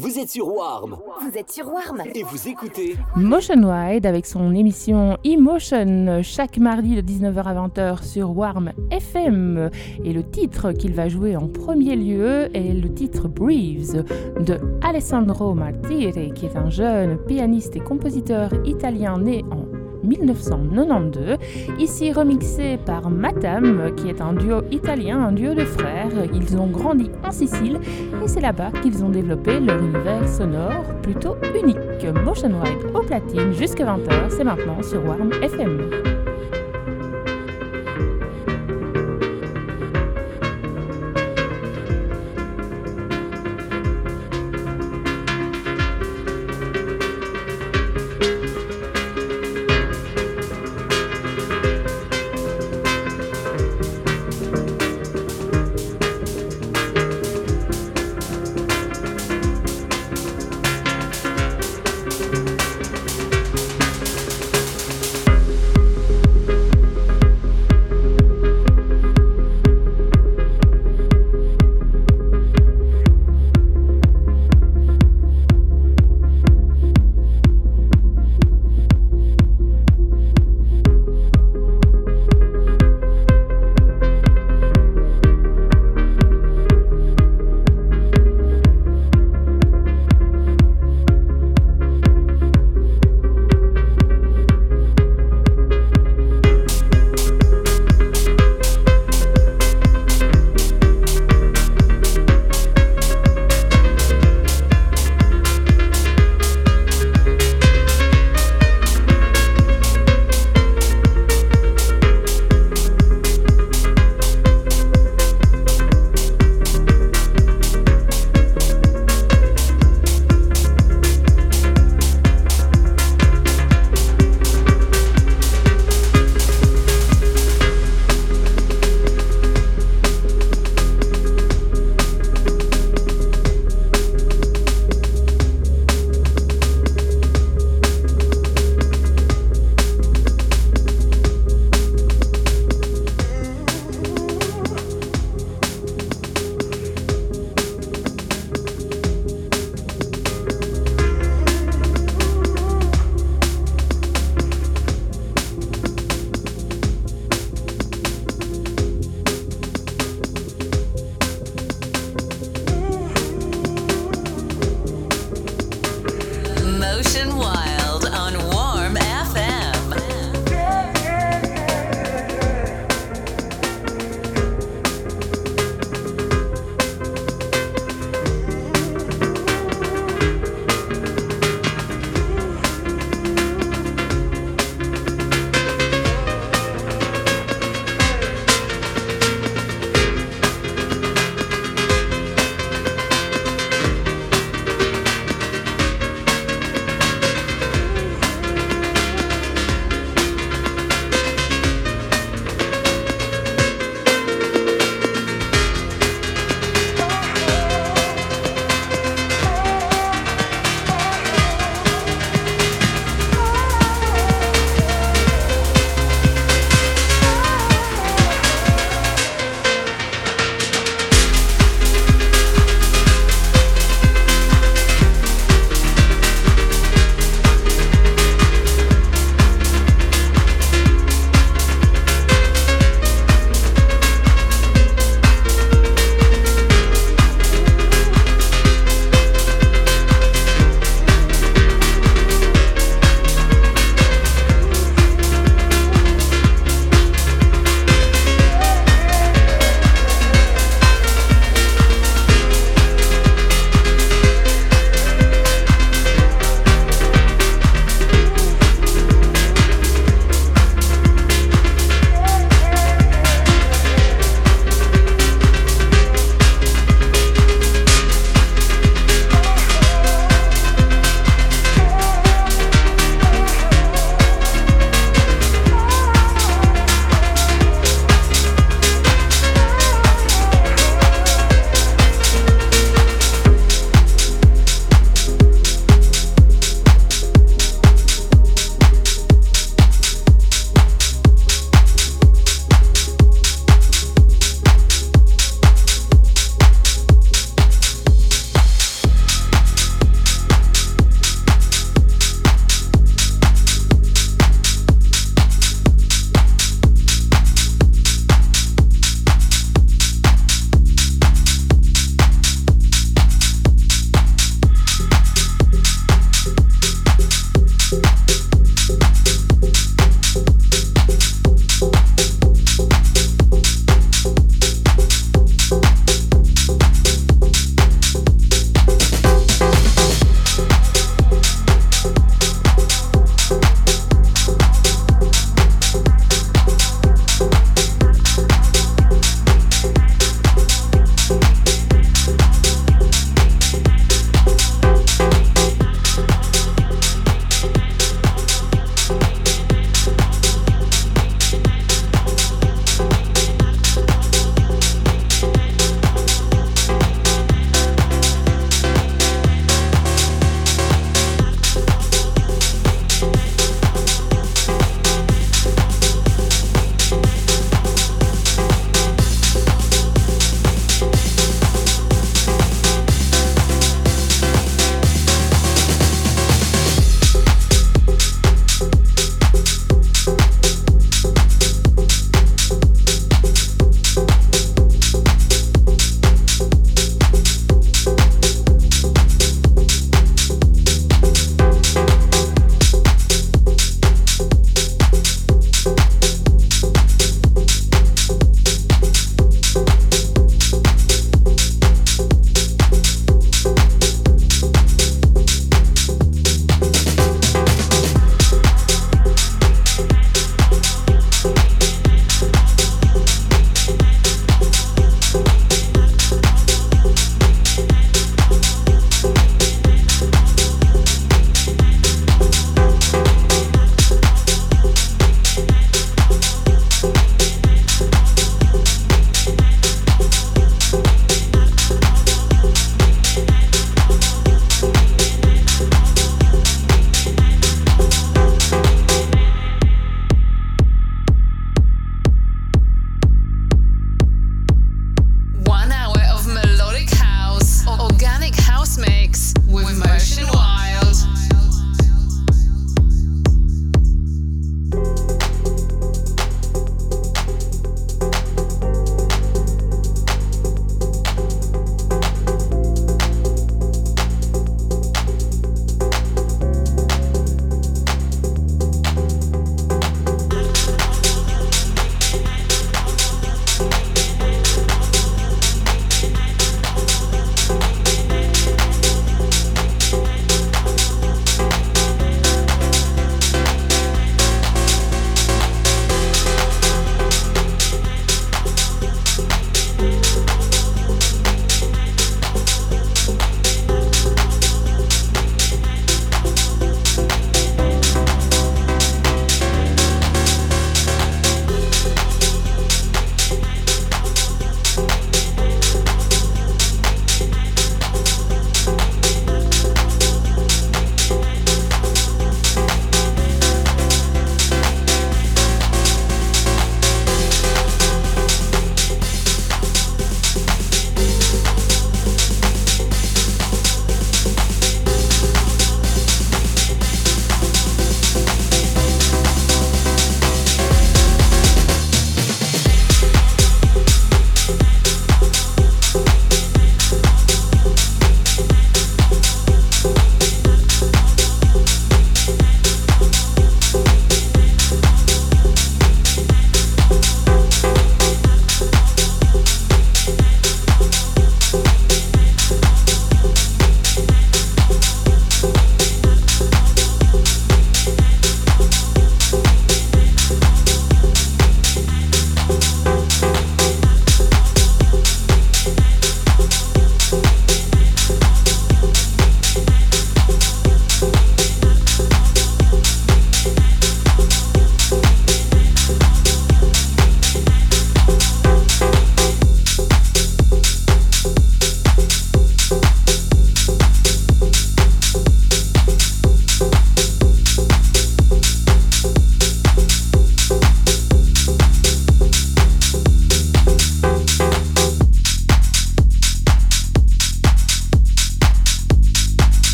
Vous êtes sur Warm. Vous êtes sur Warm. Et vous écoutez Motion Wide avec son émission Emotion chaque mardi de 19h à 20h sur Warm FM. Et le titre qu'il va jouer en premier lieu est le titre Breathe de Alessandro Martire, qui est un jeune pianiste et compositeur italien né en 1992, ici remixé par Matam, qui est un duo italien, un duo de frères. Ils ont grandi en Sicile et c'est là-bas qu'ils ont développé leur univers sonore plutôt unique. Motion Wide au platine jusqu'à 20h, c'est maintenant sur Warm FM.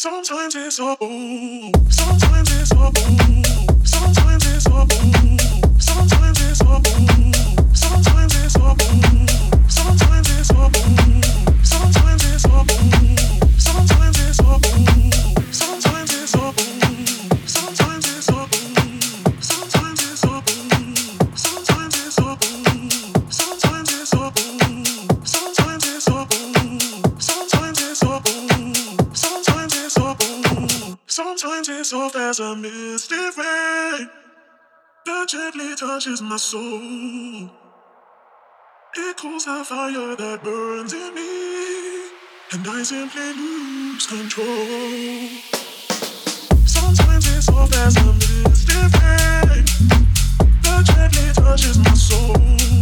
Sometimes it's a boo. Sometimes it's a boo. Sometimes it's a boo. Sometimes it's a boo. Sometimes it's a boo. Sometimes it's a boo. Sometimes it's a boo. Sometimes it's a boo. Sometimes it's a boo. Sometimes it's a boo. Sometimes it's a boo. Sometimes it's a boo. Sometimes it's a boo. Sometimes it's a boo. Sometimes it's a boo. Sometimes it's a boo. Sometimes it's soft as a misty rain that gently touches my soul. It cools the fire that burns in me, and I simply lose control. Sometimes it's soft as a misty rain that gently touches my soul.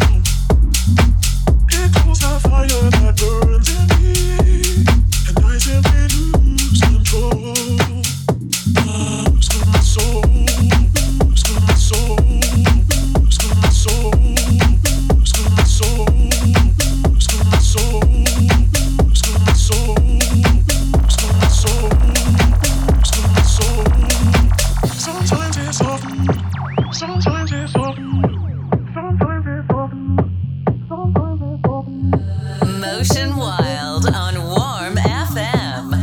It cools the fire that burns in me, and I simply lose control. Lose my soul, lose my soul, lose my soul, lose my soul, lose my soul, lose my soul, lose my soul, lose my soul. Sometimes it's soft, sometimes it's soft, sometimes it's soft, sometimes it's soft. Motion Wild on Warm FM.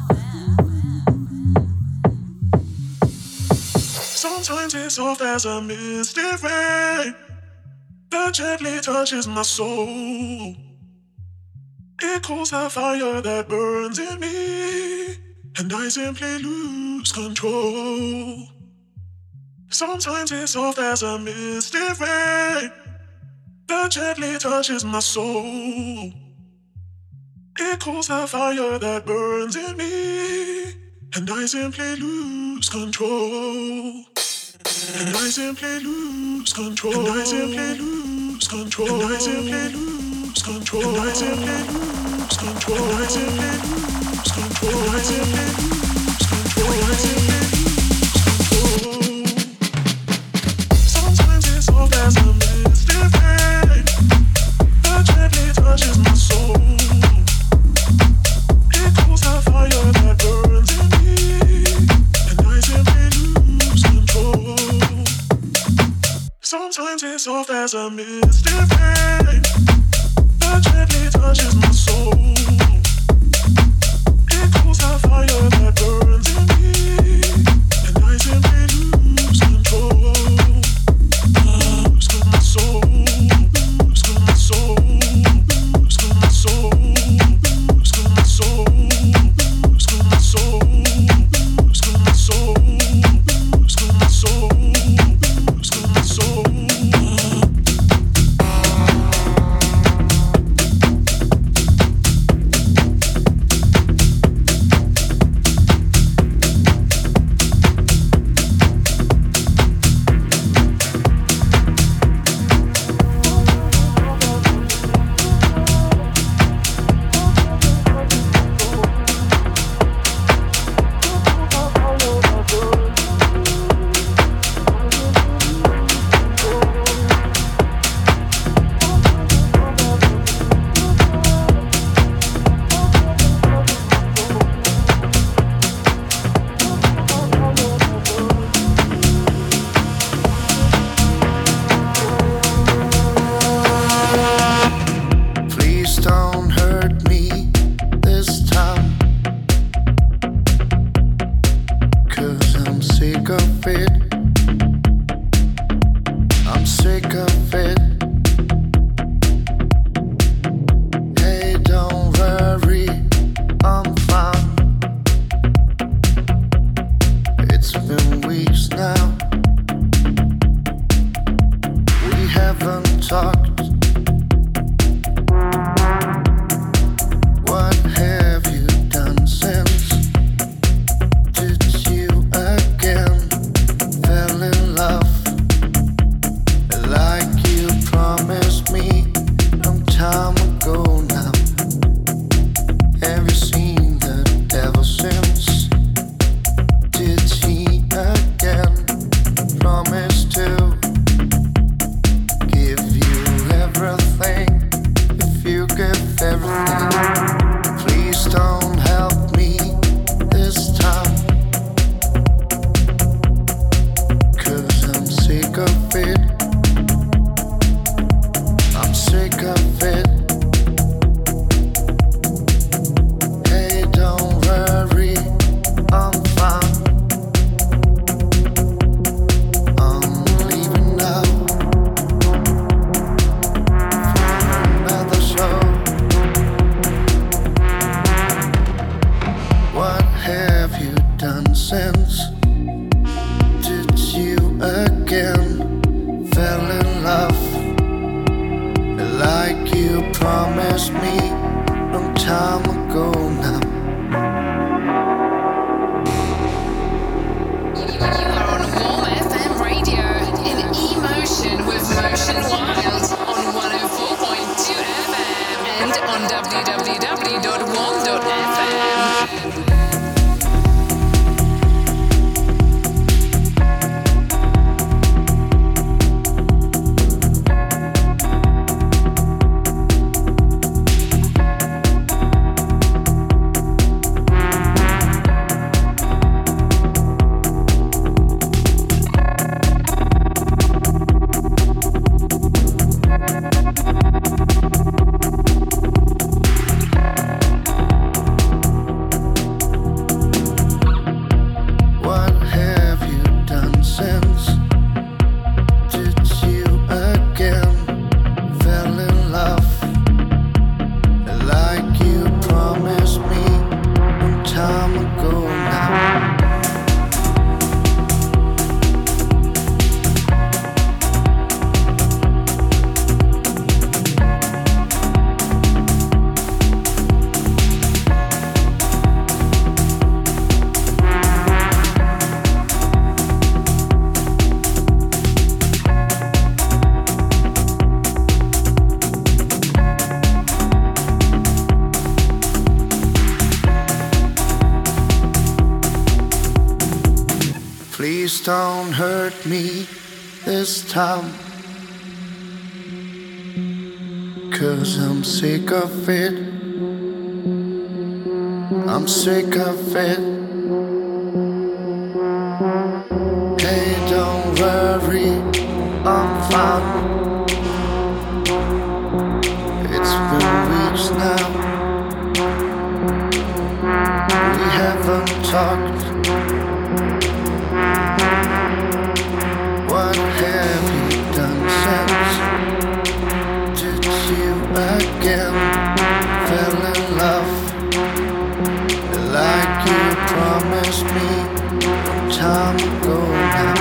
Sometimes it's soft as a misty rain that gently touches my soul. It cools the fire that burns in me, and I simply lose control. Sometimes it's soft as a misty rain that gently touches my soul. It cools the fire that burns in me, and I simply lose control. And I simply lose control. And I simply lose control. And I simply lose control. And I simply lose control. And I simply lose control. And I simply lose control. And I simply lose control. Sometimes it's soft as a misty rain that gently touches my soul. It cools the fire that burns in me, and I simply lose control. Sometimes it's soft as a misty rain that gently touches my soul. It cools the fire that burns in me, and I simply lose control. Lose my soul, lose my soul, lose my soul, lose my soul, lose my soul, lose my soul, lose my soul, lose my soul. sense. Did you again fell in love like you promised me long time ago now? You are on Warm FM Radio in Emotion with Motion Wild on 104.2 FM and on www.warm.fm. Please don't hurt me this time, 'cause I'm sick of it. I'm sick of it. Hey, don't worry, I'm fine. It's been weeks now. We haven't talked. What have you done since? Did you again fell in love like you promised me long time ago now?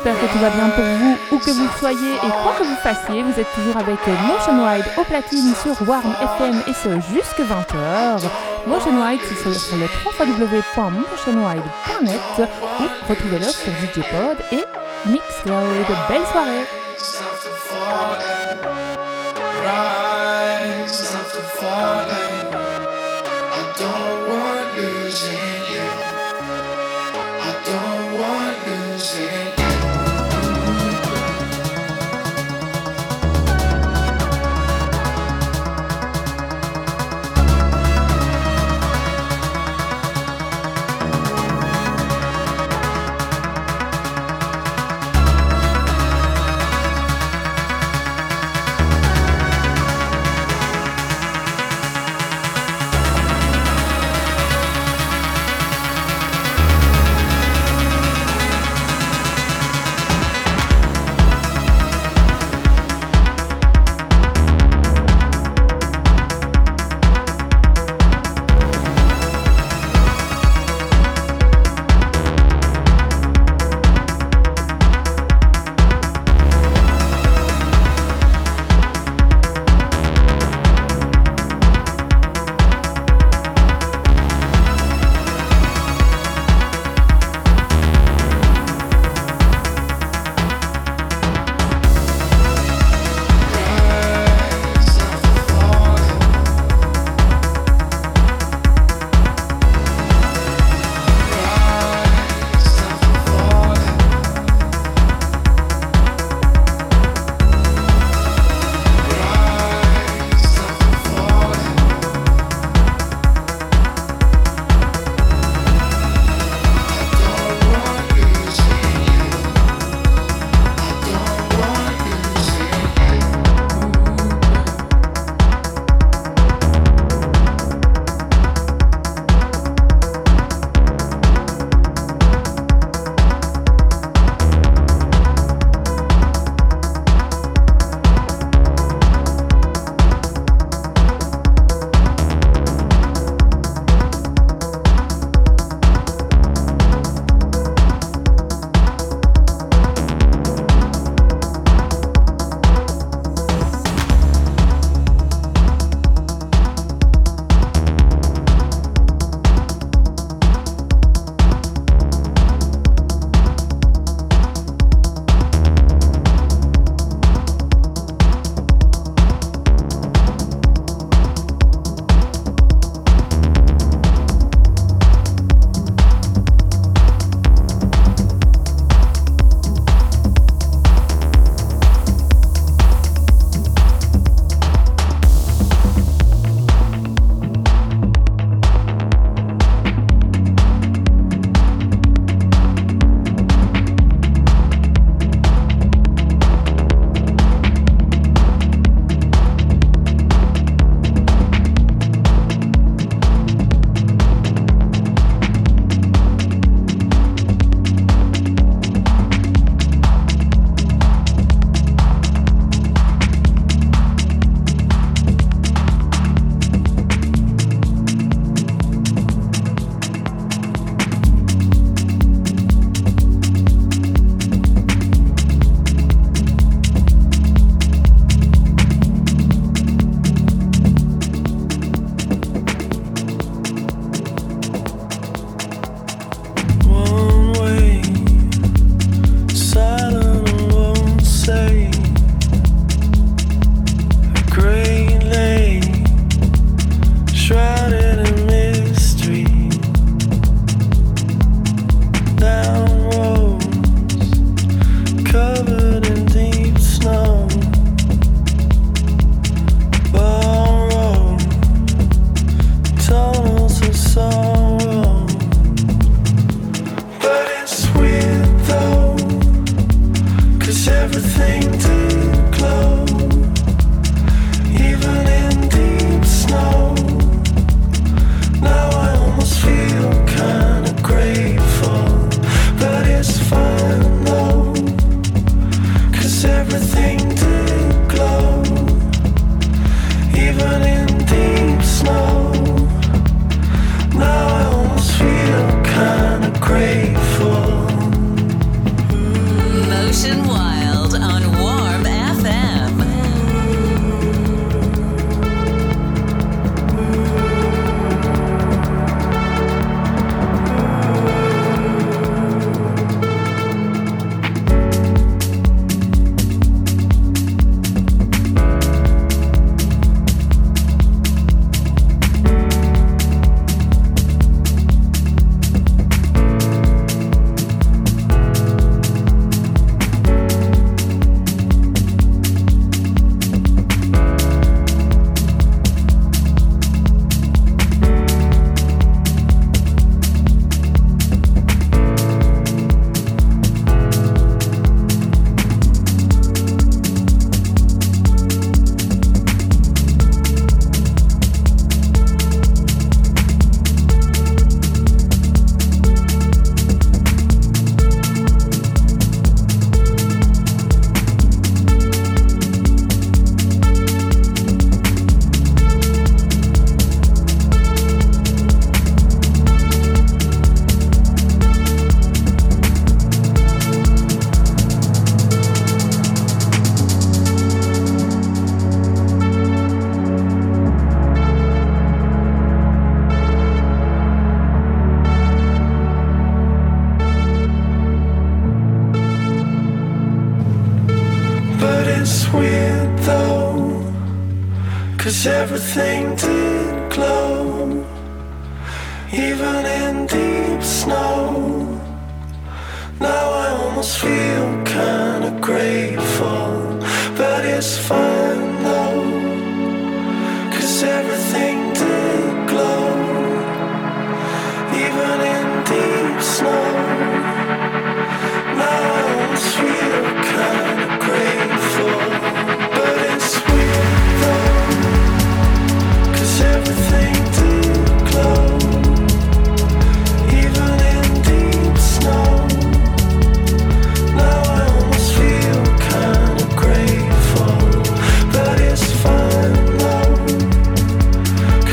j'espère que tout va bien pour vous, où que vous soyez et quoi que vous fassiez. Vous êtes toujours avec Motion Wide au platine sur Warm FM et ce jusque 20h. Motion Wide, c'est sur le www.motionwide.net ou retrouvez-le sur DJpod et Mixcloud. Belle soirée! everything did glow, even in deep snow. Now I almost feel kinda grateful, but it's fine though, 'cause everything did glow, even in deep snow. Now I almost feel kinda grateful, but it's weird though, 'cause everything did glow, even in deep snow. Now I almost feel kinda grateful, but it's fine though,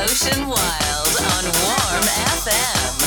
Motion Wild on Warm FM.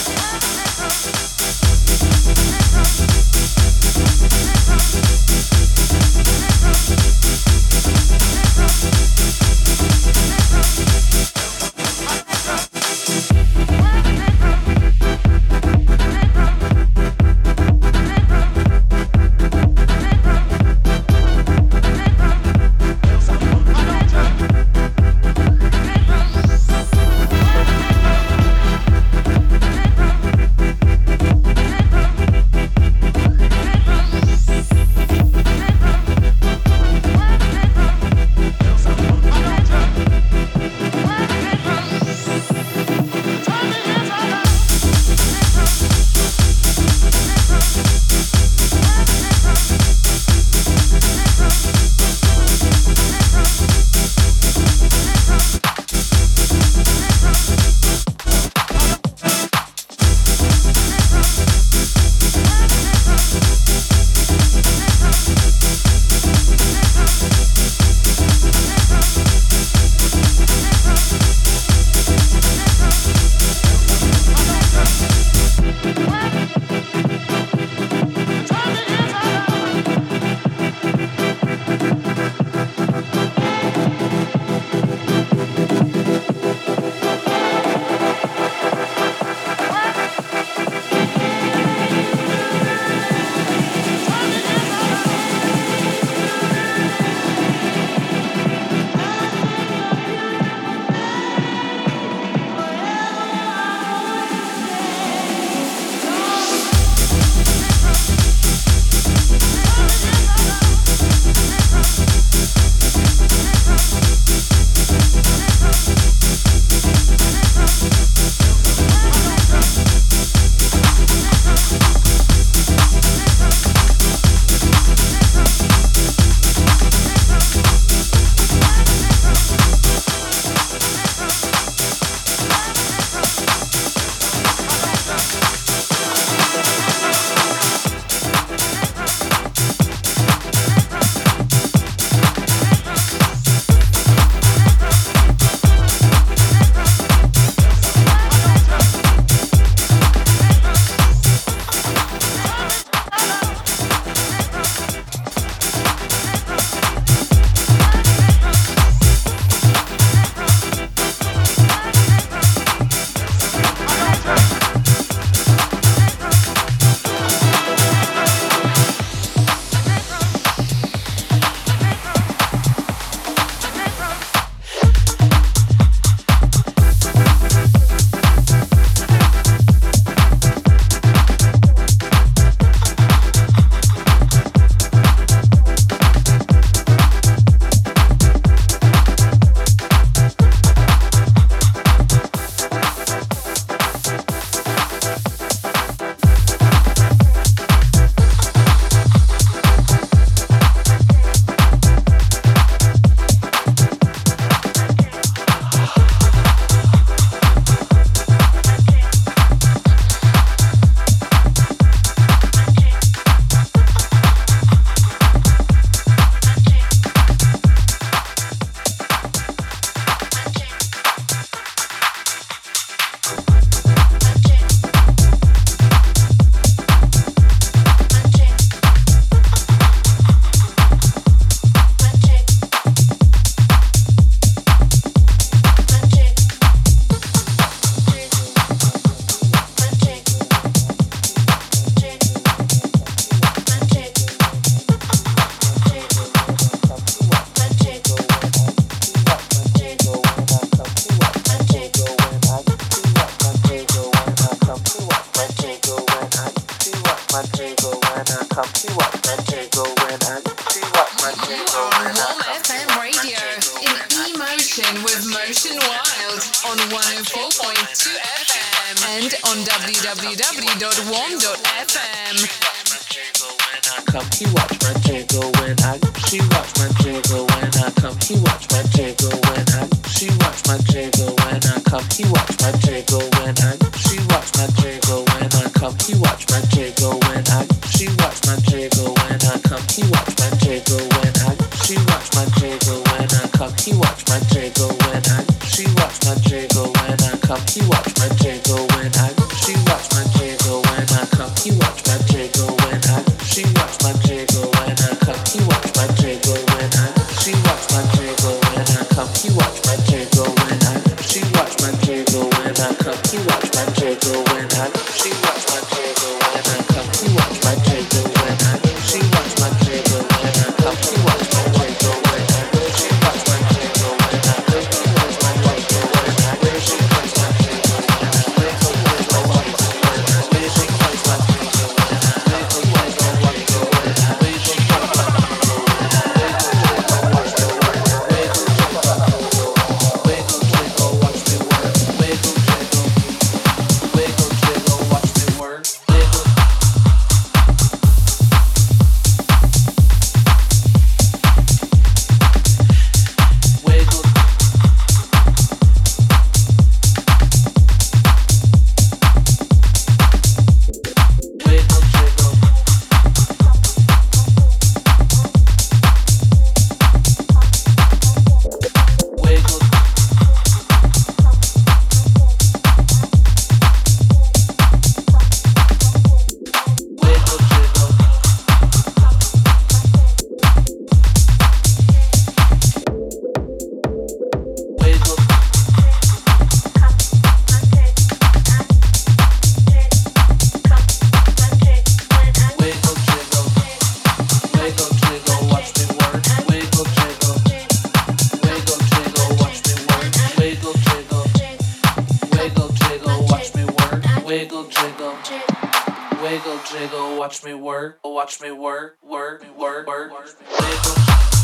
and on www.warm.fm. Come, he watch my jiggle when she watch my jiggle when I come, he watch my jiggle when she watch my jiggle when I come, he watch my jiggle when she watch my jiggle when I come, he watch my jiggle when she watch my jiggle when I come, he watch my jiggle when she watch my jiggle when I come, he watch my jiggle when she watch my jiggle. come, he watch my jiggle when I she watch my jiggle when I come, he watch my jiggle when I she watch my jiggle when I come, he watch my jiggle when I she watch my jiggle when I come, he watch my jiggle when I she watch my jiggle when I come, he watch my jiggle when I she watch my jiggle when I come, he watch my jiggle when I she watch my jiggle when I come, he watch my jiggle when I she watch my jiggle when I she watch my jiggle when I she watch my jiggle when I wiggle wiggle wiggle when I wiggle wiggle wiggle when I wiggle wiggle wiggle when I wiggle Watch me work, work, work, work, wiggle.